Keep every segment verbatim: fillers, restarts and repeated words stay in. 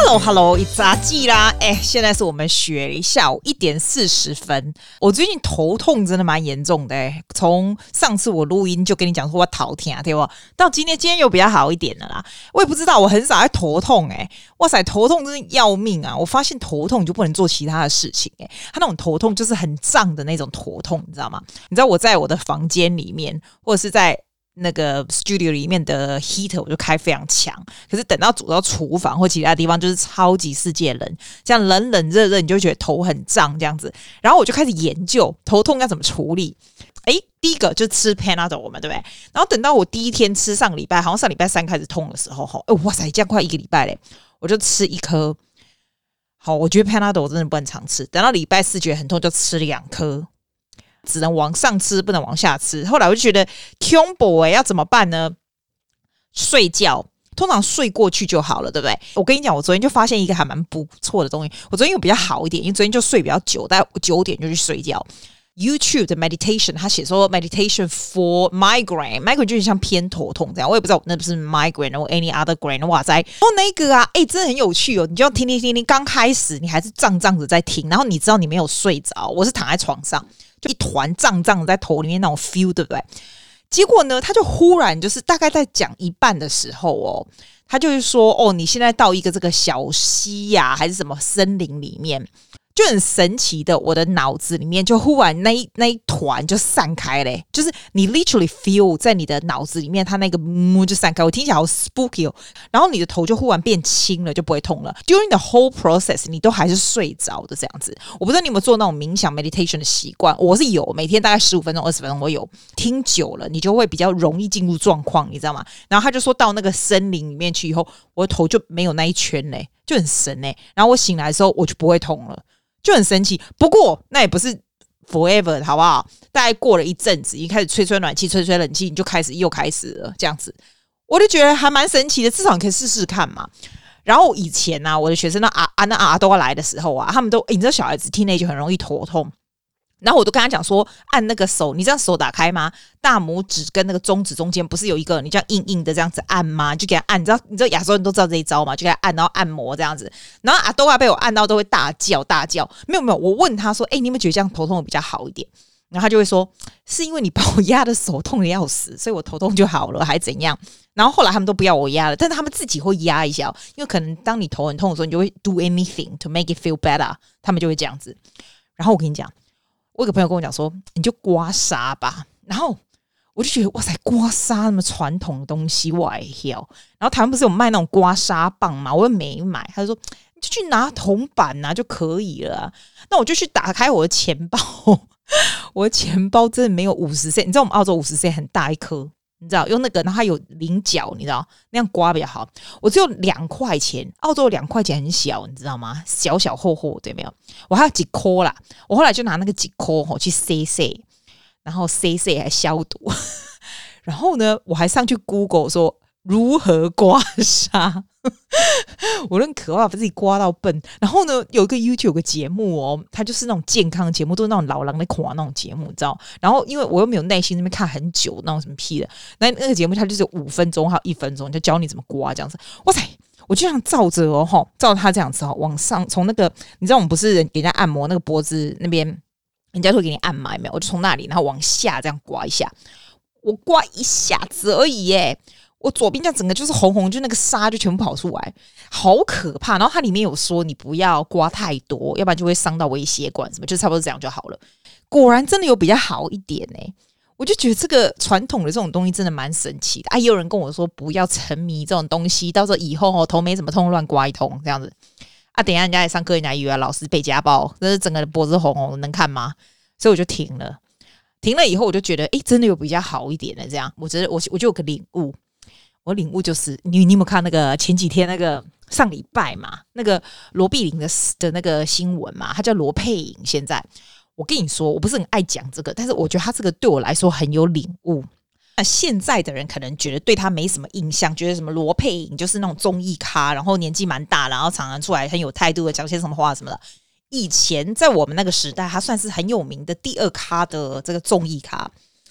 Hello Hello， 一雜記啦！哎，現在是我們學下午一點四十分。我最近頭痛真的蠻嚴重的哎，從上次我錄音就跟你講說我頭痛，對不？到今天今天又比較好一點了啦。我也不知道，我很少在頭痛哎，哇塞，頭痛真的要命啊！我發現頭痛就不能做其他的事情哎，他那種頭痛就是很脹的那種頭痛，你知道嗎？你知道我在我的房間裡面，或者是在那個 studio 裡面的 heater 我就開非常強，可是等到走到廚房或其他地方就是超級世界冷，這樣冷冷熱熱你就會覺得頭很脹這樣子，然後我就開始研究頭痛要怎麼處理。誒，第一個就吃 Panadol 嘛，對不對？然後等到我第一天吃上個禮拜，好像上禮拜三開始痛的時候，哦，哇塞，這樣快一個禮拜嘞，我就吃一顆。好，我覺得 Panadol 真的不能常吃，等到禮拜四覺得很痛就吃兩顆。只能往上吃，不能往下吃。後來我就覺得恐怖欸，要怎麼辦呢？睡覺，通常睡過去就好了，對不對？我跟你講，我昨天就發現一個還蠻不錯的東西。我昨天又比較好一點，因為昨天就睡比較久，大概九點就去睡覺。YouTube 的 meditation， 他寫說 meditation for migraine，migraine 就是像偏頭痛這樣。我也不知道我那不是 migraine 或 any other grain， 哇塞！哦，那個啊，哎，真的很有趣哦。你就要聽聽聽聽，剛開始你還是脹脹的在聽，然後你知道你沒有睡着，我是躺在床上。就一團脹脹在頭裡面那種 feel， 對不對？結果呢，他就忽然就是大概在講一半的時候哦，他就是說哦，你現在到一個這個小溪呀、啊，還是什麼森林裡面，就很神奇的，我的腦子裡面就忽然那一那一團就散開嘞，就是你 literally feel 在你的腦子裡面，它那個嗯就散開，我聽起來好 spooky 哦。然後你的頭就忽然變輕了，就不會痛了。During the whole process， 你都還是睡着的這樣子。我不知道你有沒有做那種冥想 meditation 的習慣，我是有，每天大概十五分鐘、二十分鐘，我有聽久了，你就會比較容易進入狀況，你知道嗎？然後他就說到那個森林裡面去以後，我的頭就沒有那一圈嘞，就很神嘞。然後我醒來的時候，我就不會痛了。就很神奇，不過那也不是 forever， 好不好？大概過了一陣子，一開始吹吹暖氣、吹吹冷氣，你就開始又開始了這樣子，我就覺得還蠻神奇的，至少你可以試試看嘛。然後以前啊，我的學生那啊啊那啊都要來的時候啊，他們都、欸、你知道小孩子聽那就很容易頭痛。然後我都跟他講說，按那個手，你這樣手打開嗎？大拇指跟那個中指中間不是有一個，你這樣硬硬的這樣子按嗎？就給他按，你知道，你知道亞洲人都知道這一招嘛？就給他按，然後按摩這樣子。然後阿多啊被我按到都會大叫大叫。沒有沒有，我問他說，哎、欸，你有沒有覺得這樣頭痛會比較好一點？然後他就會說，是因為你把我壓的手痛的要死，所以我頭痛就好了，還怎樣？然後後來他們都不要我壓了，但是他們自己會壓一下，因為可能當你頭很痛的時候，你就會 do anything to make it feel better， 他們就會這樣子。然後我跟你講。我有個朋友跟我講說，你就刮痧吧。然後我就覺得哇塞，刮痧那麼傳統的東西我也要。然後台灣不是有賣那種刮痧棒嗎？我又沒買。他就說你就去拿銅板啊就可以了啊。那我就去打開我的錢包，我的錢包真的沒有五十 C。你知道我們澳洲五十 C 很大一顆，你知道用那個，然後它有菱角，你知道那樣刮比較好。我只有兩塊錢，澳洲兩塊錢很小，你知道嗎？小小厚厚，對沒有？我還有幾顆啦，我後來就拿那個幾顆吼去塞塞，然後塞塞還消毒。然後呢，我還上去 Google 說如何刮痧。我很可怕，把自己刮到笨。然後呢，有一個 YouTube 有個節目哦，它就是那種健康的節目，都是那種老人在看那種節目，你知道？然後因為我又沒有耐心那邊看很久，那種什麼屁的，那那個節目它就是五分鐘還有一分鐘，就教你怎麼刮這樣子。哇塞，我就這樣照着哦，吼，照着他這樣子哦，往上從那個，你知道我們不是給人家按摩那個脖子那邊，人家會給你按嘛，有沒有？我就從那裡然後往下這樣刮一下，我刮一下子而已耶。我左邊這樣整個就是紅紅，就那個沙就全部跑出來，好可怕。然後它裡面有說你不要刮太多，要不然就會傷到微血管什麼，就差不多這樣就好了。果然真的有比較好一點呢、欸。我就覺得這個傳統的這種東西真的蠻神奇的啊！也有人跟我說不要沉迷這種東西，到時候以後哦頭沒怎麼痛亂刮一通這樣子啊。等一下人家來上課，人家以為老師被家暴，這是整個脖子紅紅的，能看嗎？所以我就停了。停了以後我就覺得，哎，真的有比較好一點的這樣。我覺得我我就有個領悟。我領悟就是你，你有沒有看那個前幾天那個上禮拜嘛，那個羅碧玲的的那個新聞嘛，他叫羅佩穎。現在我跟你說，我不是很愛講這個，但是我覺得他這個對我來說很有領悟。那現在的人可能覺得對他沒什麼印象，覺得什麼羅佩穎就是那種綜藝咖，然後年紀蠻大，然後常常出來很有態度的講些什麼話什麼的。以前在我們那個時代，他算是很有名的第二咖的這個綜藝咖。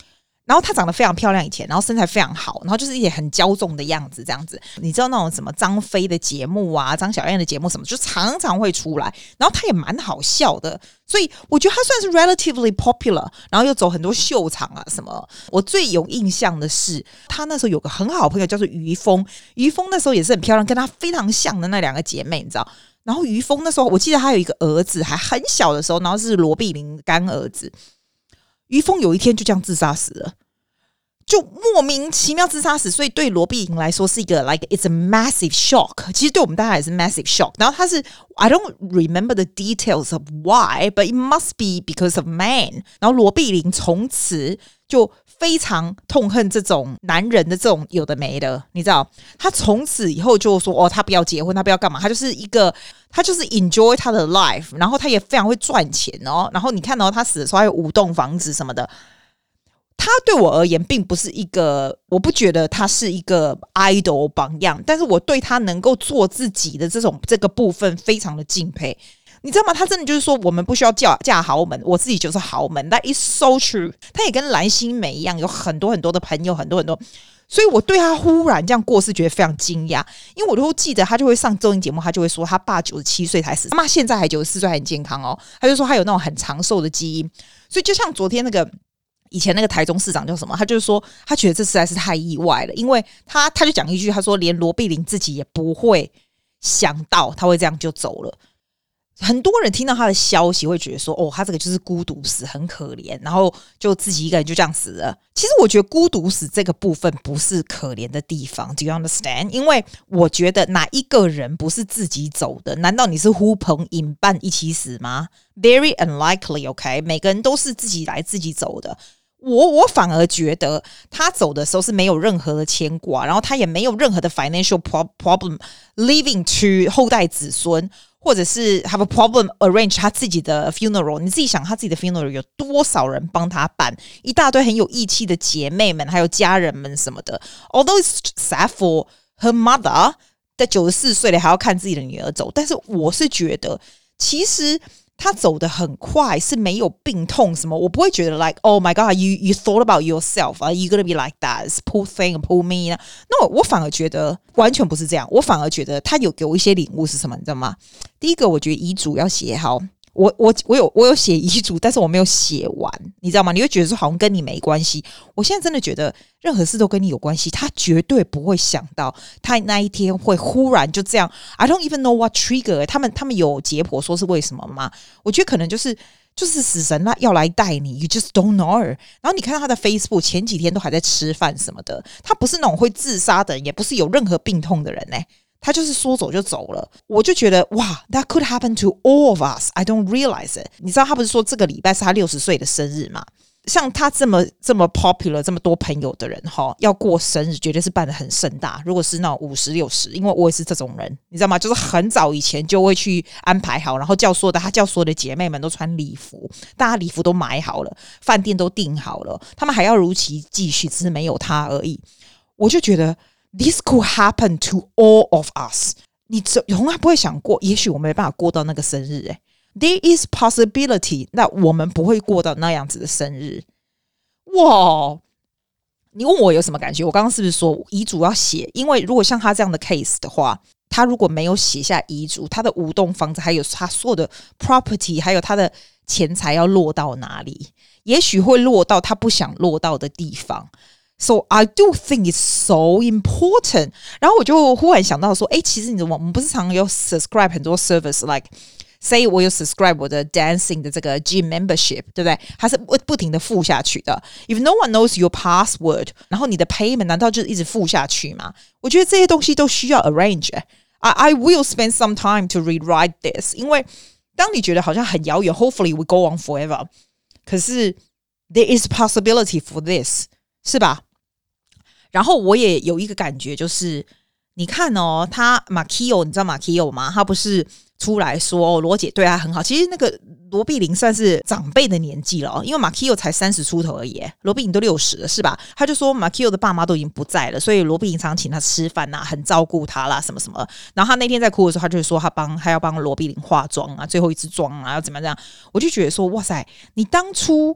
然後她長得非常漂亮以前，然後身材非常好，然後就是也很驕縱的樣子這樣子。你知道那種什麼張飛的節目啊，張小燕的節目什麼，就常常會出來，然後她也蠻好笑的，所以我覺得她算是 relatively popular， 然後又走很多秀場啊什麼。我最有印象的是她那時候有個很好的朋友叫做於峰，於峰那時候也是很漂亮，跟她非常像的那兩個姐妹，你知道。然後於峰那時候我記得他有一個兒子還很小的時候，然後是羅碧玲乾兒子。於峰有一天就這樣自殺死了，就莫名其妙自殺死，所以對羅碧玲來說是一個 like it's a massive shock， 其實對我們大家也是 massive shock。然後他是 I don't remember the details of why but it must be because of man。 然後羅碧玲從此就非常痛恨這種男人的這種有的沒的，你知道，他從此以後就說哦，他不要結婚，他不要幹嘛，他就是一個，他就是 enjoy 他的 life， 然後他也非常會賺錢哦。然後你看哦，他死的時候還有五棟房子什麼的。他對我而言並不是一個，我不覺得他是一個 idol 榜樣，但是我對他能夠做自己的這種這個部分非常的敬佩。你知道嗎？他真的就是說，我們不需要嫁嫁豪門，我自己就是豪門。That is so true。他也跟藍心湄一樣，有很多很多的朋友，很多很多。所以我對他忽然這樣過世，覺得非常驚訝。因為我都記得他就會上綜藝節目，他就會說他爸九十七歲才死，他媽現在還九十四歲，還很健康哦。他就說他有那種很長壽的基因。所以就像昨天那個以前那個台中市長叫什麼，他就是說他覺得這實在是太意外了，因為他他就講一句，他說連羅碧玲自己也不會想到他會這樣就走了。很多人聽到他的消息會覺得說，哦，他這個就是孤獨死，很可憐，然後就自己一個人就這樣死了。其實我覺得孤獨死這個部分不是可憐的地方 ，Do you understand？ 因為我覺得哪一個人不是自己走的？難道你是呼朋引伴一起死嗎？ Very unlikely，OK？、Okay? 每個人都是自己來自己走的。我我反而覺得他走的時候是沒有任何的牽掛，然後他也沒有任何的 financial problem leaving to 後代子孫。或者是 have a problem arrange 他自己的 funeral， 你自己想他自己的 funeral 有多少人幫他辦，一大堆很有義氣的姐妹們還有家人們什麼的。Although it's sad for her mother， 在九十四歲了還要看自己的女兒走，但是我是覺得其實他走得很快，是沒有病痛什麼，我不會覺得 like oh my god you you thought about yourself are you gonna be like that poor thing poor me no， 我反而覺得完全不是這樣，我反而覺得他有給我一些領悟是什麼，你知道嗎？第一個，我覺得遺囑要寫好。我我我有我有寫遺囑，但是我沒有寫完，你知道嗎？你會覺得說好像跟你沒關係。我現在真的覺得任何事都跟你有關係。他絕對不會想到他那一天會忽然就這樣。I don't even know what trigger。他們他們有解剖說是為什麼嗎？我覺得可能就是就是死神要來帶你 ，You just don't know。然後你看到他的 Facebook 前幾天都還在吃飯什麼的，他不是那種會自殺的人，也不是有任何病痛的人呢、欸。他就是說走就走了，我就覺得哇 ，That could happen to all of us. I don't realize it. 你知道他不是說這個禮拜是他六十歲的生日嗎？像他這麼這麼 popular 這麼多朋友的人齁，要過生日絕對是辦得很盛大。如果是那種五十六十，因為我也是這種人，你知道嗎？就是很早以前就會去安排好，然後叫所有的他叫所有的姐妹們都穿禮服，大家禮服都買好了，飯店都訂好了，他們還要如期繼續，只是沒有他而已。我就覺得。This could happen to all of us。你從來不會想過，也許我沒辦法過到那個生日。哎 ，There is possibility， 那我們不會過到那樣子的生日。哇！你問我有什麼感覺？我剛剛是不是說遺囑要寫？因為如果像他這樣的 case 的話，他如果沒有寫下遺囑，他的五棟房子還有他所有的 property， 還有他的錢財要落到哪裡？也許會落到他不想落到的地方。So I do think it's so important。然後我就忽然想到說，哎，其實你怎麼我們不是常有 subscribe 很多 service，like say 我有 subscribe 我的 dancing 的這個 gym membership， 對不對？它是不不停的付下去的。If no one knows your password， 然後你的 payment 難道就一直付下去嗎？我覺得這些東西都需要 arrange。I I will spend some time to rewrite this， 因為當你覺得好像很遙遠 ，hopefully we go on forever， 可是 there is possibility for this， 是吧？然後我也有一個感覺，就是你看哦，他馬 Kio， 你知道馬 Kio 嗎？他不是出來說哦，羅姐對他很好。其實那個羅碧玲算是長輩的年紀了哦，因為馬 Kio 才三十出頭而已，羅碧玲都六十了，是吧？他就說馬 Kio 的爸媽都已經不在了，所以羅碧玲常請他吃飯啊，很照顧他啦，什麼什麼。然後他那天在哭的時候，他就說他幫他要幫羅碧玲化妝啊，最後一支妝啊，要怎麼樣？我就覺得說，哇塞，你當初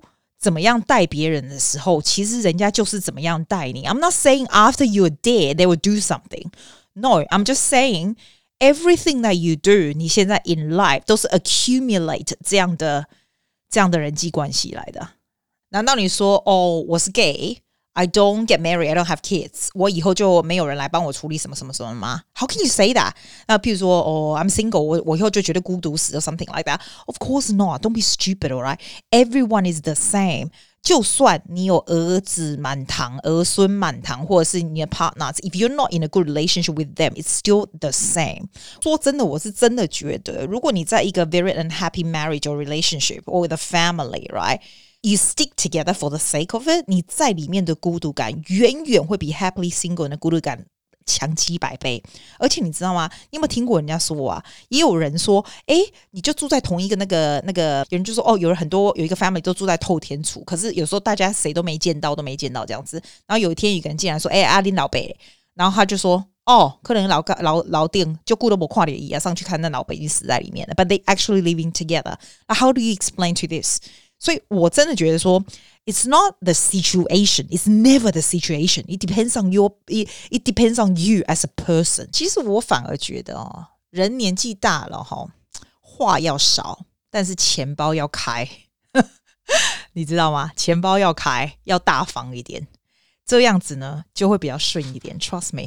怎麼樣帶別人的時候，其實人家就是怎麼樣帶你。I'm not saying after you're dead they will do something. No, I'm just saying everything that you do, 你現在 in life 都是 accumulate 這樣的這樣的人際關係來的。難道你說哦，我是 gay?I don't get married. I don't have kids. 我以後就沒有人來幫我處理什麼什麼什麼嗎？ How can you say that? 那譬如說，哦、oh, ，I'm single. 我我以後就絕對孤獨死 or something like that. Of course not. Don't be stupid, alright? Everyone is the same. 就算你有兒子滿堂、兒孫滿堂，或者是你的 partners, if you're not in a good relationship with them, it's still the same. 說真的，我是真的覺得，如果你在一個 very unhappy marriage or relationship or with a family, right?You stick together for the sake of it. 你在裡面的孤獨感遠遠會比 happily single 的孤獨感強幾百倍。而且你知道嗎？你有沒有聽過人家說啊？也有人說，誒，你就住在同一個那個那個，有人就說，哦，有人很多有一個 family 都住在透天厝，可是有時候大家誰都沒見到，都沒見到這樣子。然後有一天有一個人進來說，誒，阿林老伯，然後他就說，哦，可能老老老店就顧都沒看到伊啊，上去看那老伯已經死在裡面了。But they actually living together. How do you explain to this?所以我真的覺得說 it's not the situation, it's never the situation. It depends on your, it, it depends on you as a person. 其實我反而覺得哦，人年紀大了哈，話要少，但是錢包要開。你知道嗎？錢包要開，要大方一點，這樣子呢就會比較順一點。Trust me.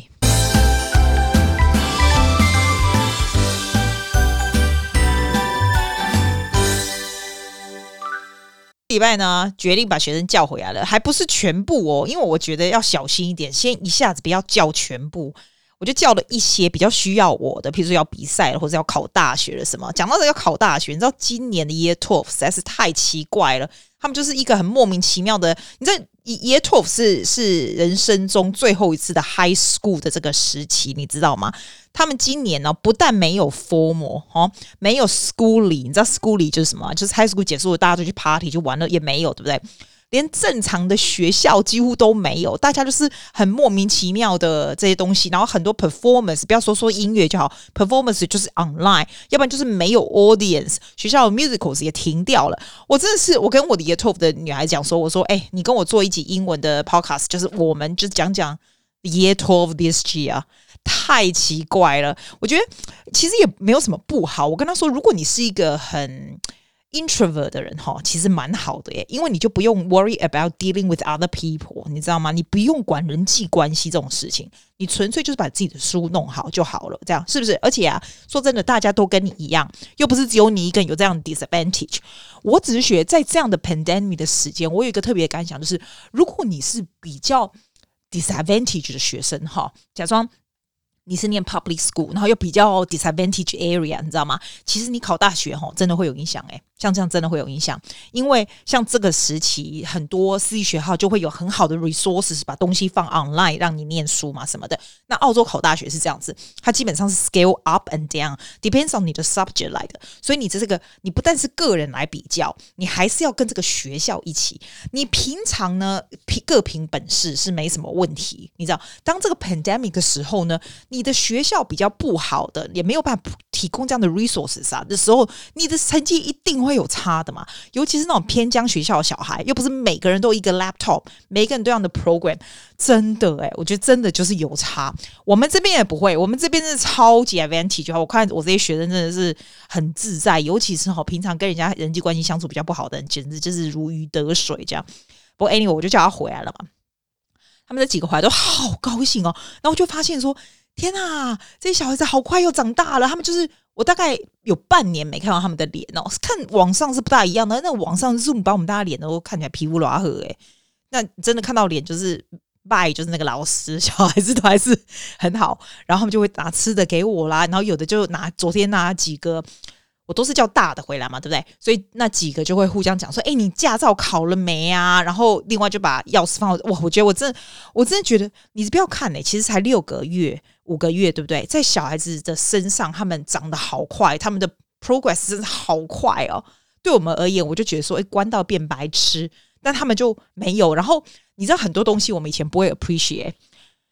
禮拜呢，決定把學生叫回來了，還不是全部哦，因為我覺得要小心一點，先一下子不要叫全部，我就叫了一些比較需要我的，譬如說要比賽了，或者要考大學了什麼。講到這個要考大學，你知道今年的 Year twelve 實在是太奇怪了，他們就是一個很莫名其妙的，你知道 Year twelve 是是人生中最後一次的 High School 的這個時期，你知道嗎？他們今年呢、哦，不但沒有 formal 哦，沒有 schooly， 你知道 schooly 就是什麼？就是 high school 結束了，大家就去 party 就玩了，也沒有，對不對？連正常的學校幾乎都沒有，大家就是很莫名其妙的這些東西，然後很多 performance， 不要說說音樂就好 ，performance 就是 online， 要不然就是沒有 audience， 學校的 musicals 也停掉了。我真的是，我跟我的 Year twelve 的女孩講說，我說，哎、欸，你跟我做一集英文的 podcast， 就是我們就講講 Year twelve this year。太奇怪了，我覺得其實也沒有什麼不好。我跟他說，如果你是一個很 introvert 的人哈，其實蠻好的耶，因為你就不用 worry about dealing with other people， 你知道嗎？你不用管人際關係這種事情，你純粹就是把自己的書弄好就好了，這樣是不是？而且啊，說真的，大家都跟你一樣，又不是只有你一個人有這樣的 disadvantage。我只是覺得在這樣的 pandemic 的時間，我有一個特別的感想，就是如果你是比較 disadvantage 的學生哈，假裝你是念 public school， 然後又比較 disadvantage area， 你知道嗎？其實你考大學齁，真的會有影響誒，像這樣真的會有影響，因為像這個時期，很多私立學校就會有很好的 resources， 把東西放 online 讓你念書嘛什麼的。那澳洲考大學是這樣子，它基本上是 scale up and down，depends on 你的 subject 來的。所以你這個，你不但是個人來比較，你還是要跟這個學校一起。你平常呢，各憑本事是沒什麼問題，你知道，當這個 pandemic 的時候呢，你的學校比較不好的，也沒有辦法提供這樣的 resources 啊的時候，你的成績一定會有差的嘛。尤其是那種偏鄉學校的小孩，又不是每個人都有一個 laptop， 每個人都有這樣的 program， 真的哎，我覺得真的就是有差。我們這邊也不會，我們這邊是超級 advantage。我看我這些學生真的是很自在，尤其是平常跟人家人際關係相處比較不好的人，簡直就是如魚得水這樣。不過 anyway， 我就叫他回來了嘛。他們這幾個回來都好高興哦，然後我就發現說，天啊，這些小孩子好快又長大了。他們就是我大概有半年沒看到他們的臉哦，看網上是不大一樣的。那網上 Zoom 把我們大家臉都看起來皮膚拉黑誒，那真的看到臉就是拜，就是那個老師，小孩子都還是很好。然後他們就會拿吃的給我啦，然後有的就拿昨天拿幾個。我都是叫大的回來嘛，對不對？所以那幾個就會互相講說：“哎，你駕照考了沒啊？”然後另外就把鑰匙放到哇，我覺得我真的，我真的覺得你不要看嘞、欸，其實才六個月、五個月，對不對？在小孩子的身上，他們長得好快，他們的 progress 真的好快哦。對我們而言，我就覺得說，哎，關到變白痴，但他們就沒有。然後你知道很多東西我們以前不會 appreciate。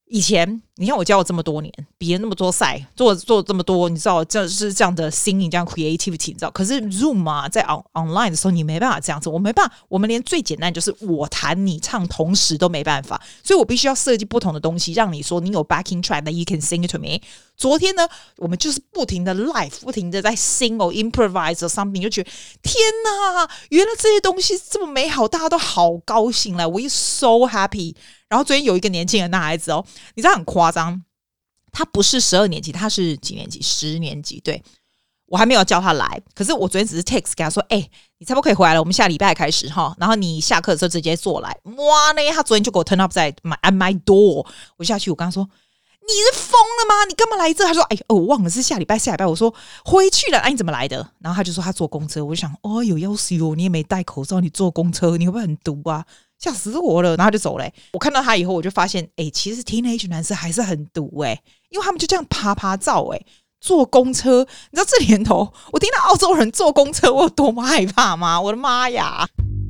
以前你看我教了這麼多年，比了那麼多賽，做做這麼多，你知道這是這樣的 singing 這樣 creativity， 你知道？可是 Zoom 啊，在 on online 的時候，你沒辦法這樣子，我沒辦法，我們連最簡單就是我彈你唱同時都沒辦法，所以我必須要設計不同的東西，讓你說你有 backing track that you can sing it to me。昨天呢，我們就是不停的 live， 不停的在 sing or improvise or something， 就覺得天哪，原來這些東西這麼美好，大家都好高興了 ，we so happy。然後昨天有一個年輕人，男孩子哦，你知道很誇張，他不是十二年級，他是幾年級？十年級。對，我還沒有叫他來，可是我昨天只是 text 給他說，哎、欸，你差不多可以回來了，我們下禮拜開始哈。然後你下課的時候直接坐來。哇呢，他昨天就給我 turn up 在 my at my door， 我下去我跟他說，你是瘋了嗎？你幹嘛來這？他說，哎、欸，哦，我忘了是下禮拜，下禮拜。我說回去了，哎、啊，你怎麼來的？然後他就說他坐公車，我就想，哦，有要死哦，你也沒戴口罩，你坐公車，你會不會很毒啊？嚇死我了，然後他就走了、欸。我看到他以後，我就發現，哎、欸，其實 teenage 男生還是很毒哎、欸，因為他們就這樣趴趴走哎，坐公車。你知道這年頭，我聽到澳洲人坐公車，我有多麼害怕嗎？我的媽呀！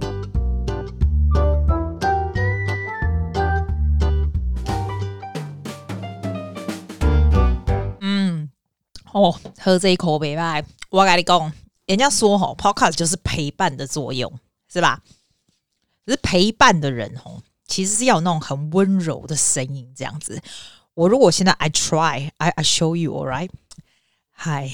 嗯，哦，喝這一口沒辦法。我跟你講，人家說吼 ，podcast 就是陪伴的作用，是吧？可是陪伴的人哦，其實是要有那種很溫柔的聲音，這樣子。我如果現在 I try, I I show you, all right? Hi，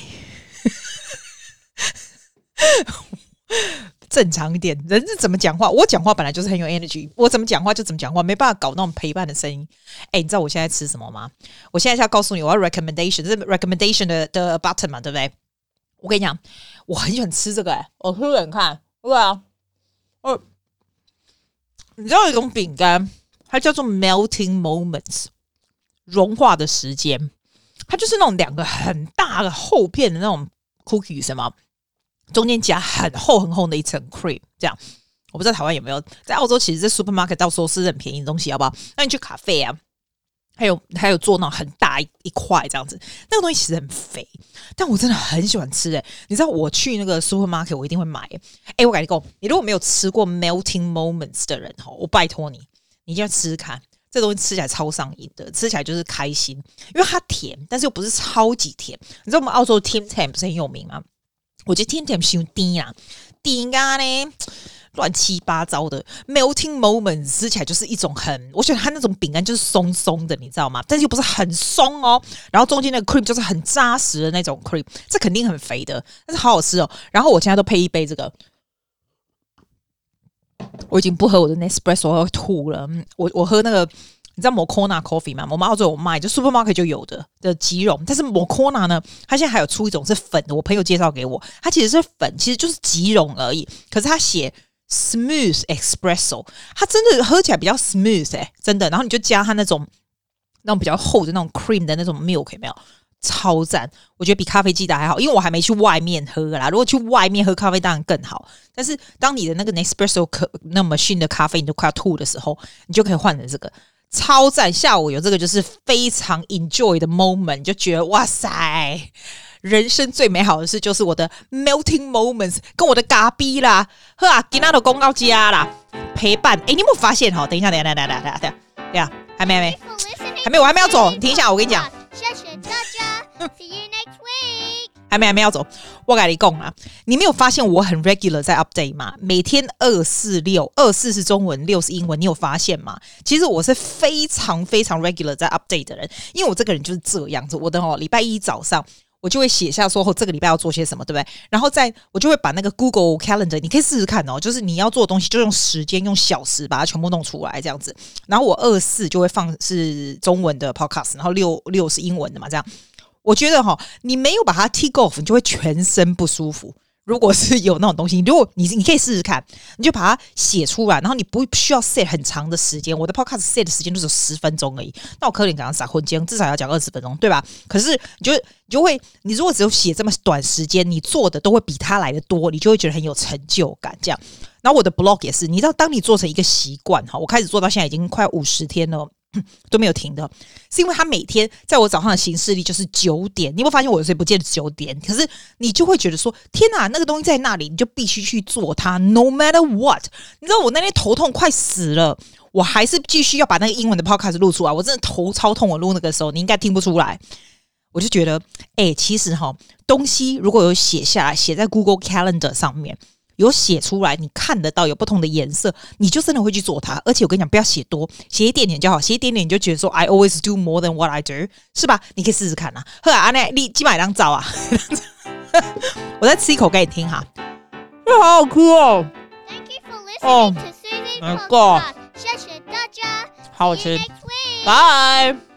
正常一點，人是怎麼講話？我講話本來就是很有 energy， 我怎麼講話就怎麼講話，沒辦法搞那種陪伴的聲音。哎，你知道我現在吃什麼嗎？我現在是要告訴你，我要 recommendation，這是 recommendation 的的 button 嘛，對不對？我跟你講，我很喜歡吃這個、欸，哎，我吃給你看，對啊，哦。你知道有一種餅乾，它叫做 melting moments， 融化的時間。它就是那種兩個很大的厚片的那種 cookies 什麼，中間夾很厚很厚的一層 cream， 這樣。我不知道台灣有沒有，在澳洲其實在 supermarket 到時候是很便宜的東西，好不好？那你去咖啡啊，還有還有做那種很大一一塊這樣子，那個東西其實很肥，但我真的很喜歡吃誒、欸。你知道我去那個 supermarket 我一定會買誒、欸。哎，我跟你講，你如果沒有吃過 melting moments 的人我拜託你，你一定要吃吃看，這東西吃起來超上癮的，吃起來就是開心，因為它甜，但是又不是超級甜。你知道我們澳洲的 Tim Tam 不是很有名嗎？我覺得 Tim Tam 太甜啦，甜啊呢。亂七八糟的 melting moments 吃起來就是一種很，我覺得它那種餅乾就是鬆鬆的，你知道嗎？但是又不是很鬆哦。然後中間那個 cream 就是很扎實的那種 cream， 這肯定很肥的，但是好好吃哦。然後我現在都配一杯這個，我已經不喝我的 Nespresso， 我要吐了。我我喝那個，你知道 Moccona Coffee 嗎？我們澳洲有賣，就 supermarket 就有的的即溶。但是 Moccona 呢，它現在還有出一種是粉的，我朋友介紹給我，它其實是粉，其實就是即溶而已。可是它寫Smooth Espresso， 它真的喝起來比較 smooth 哎、欸，真的。然後你就加它那種那種比較厚的那種 cream 的那種 milk， 有沒有？超讚！我覺得比咖啡機的還好，因為我還沒去外面喝啦。如果去外面喝咖啡當然更好，但是當你的那個 Nespresso 那 machine 的咖啡你就快要吐的時候，你就可以換成這個，超讚！下午有這個就是非常 enjoy 的 moment， 你就覺得哇塞！人生最美好的事就是我的 melting moments 跟我的咖啡啦，呵啊，今天都公到家啦，陪伴。哎，你有沒有發現哈？等一下，等一下，等一下，等一下，等一下，還沒，還沒，還沒，我還沒要走。你停一下，我跟你講。謝謝大家 ，See you next week。還沒，還沒要走。我跟你講啊，你沒有發現我很 regular 在 update 嗎？每天二四六，二四是中文，六是英文，你有發現嗎？其實我是非常非常 regular 在 update 的人，因為我這個人就是這樣子。我的哦，禮拜一早上。我就會寫下說後這個禮拜要做些什麼，對不對？然後再我就會把那個 Google Calendar， 你可以試試看哦，就是你要做的東西就用時間用小時把它全部弄出來這樣子。然後我二四就會放是中文的 podcast， 然後六六是英文的嘛，這樣。我覺得哈、哦，你沒有把它 tick off， 你就會全身不舒服。如果是有那種東西，如果你你可以試試看，你就把它寫出來，然後你不需要 set 很長的時間。我的 podcast set 的時間就只有十分鐘而已，那我可能剛剛撒混間，至少要講二十分鐘，對吧？可是你就你就會，你如果只有寫這麼短時間，你做的都會比他來的多，你就會覺得很有成就感。這樣，然後我的 blog 也是，你知道，當你做成一個習慣哈，我開始做到現在已經快五十天了。都沒有停的，是因為他每天在我早上的行事曆就是九點。你有沒有發現我有時候不見得九點，可是你就會覺得說，天哪，那個東西在那裡，你就必須去做它 ，no matter what。你知道我那天頭痛快死了， 我還是繼續要把那個英文的 podcast 錄出來。我真的頭超痛，我錄那個時候你應該聽不出來。我就覺得，哎、欸，其實哈，東西如果有寫下來，寫在 Google Calendar 上面，有寫出來，你看得到有不同的顏色，你就真的會去做它。而且我跟你講，不要寫多，寫一點點就好，寫一點點你就覺得說 I always do more than what I do， 是吧？你可以試試看啊。呵啊，那你幾百張照啊？我再吃一口給你聽哈，好好吃哦。 Thank you for listening to Susie's podcast. 謝謝大家， 好好吃，拜。